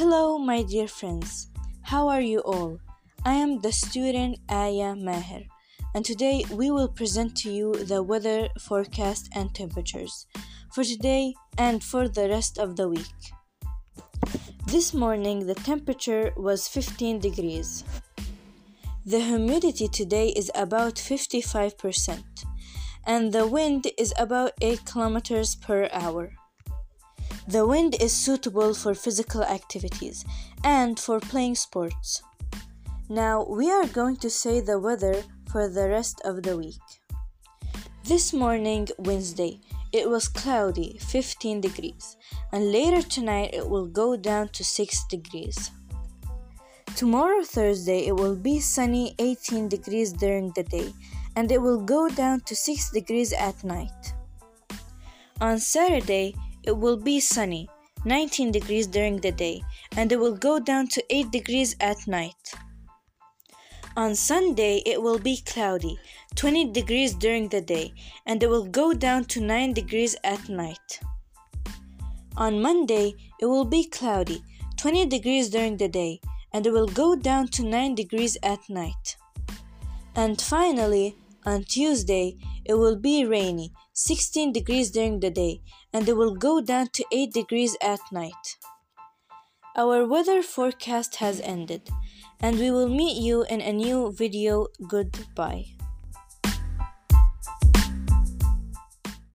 Hello, my dear friends. How are you all? I am the student Aya Maher, and today we will present to you the weather forecast and temperatures for today and for the rest of the week. This morning, the temperature was 15 degrees. The humidity today is about 55%, and the wind is about 8 kilometers per hour. The wind is suitable for physical activities and for playing sports. Now we are going to say the weather for the rest of the week. This morning, Wednesday, it was cloudy, 15 degrees, and later tonight it will go down to 6 degrees. Tomorrow, Thursday, it will be sunny, 18 degrees during the day, and it will go down to 6 degrees at night. On Saturday, it will be sunny, 19 degrees during the day, and it will go down to 8 degrees at night. On Sunday, it will be cloudy, 20 degrees during the day, and it will go down to 9 degrees at night. On Monday, it will be cloudy, 20 degrees during the day, and it will go down to 9 degrees at night. And finally, on Tuesday, it will be rainy, 16 degrees during the day, and it will go down to 8 degrees at night. Our weather forecast has ended, and we will meet you in a new video. Goodbye.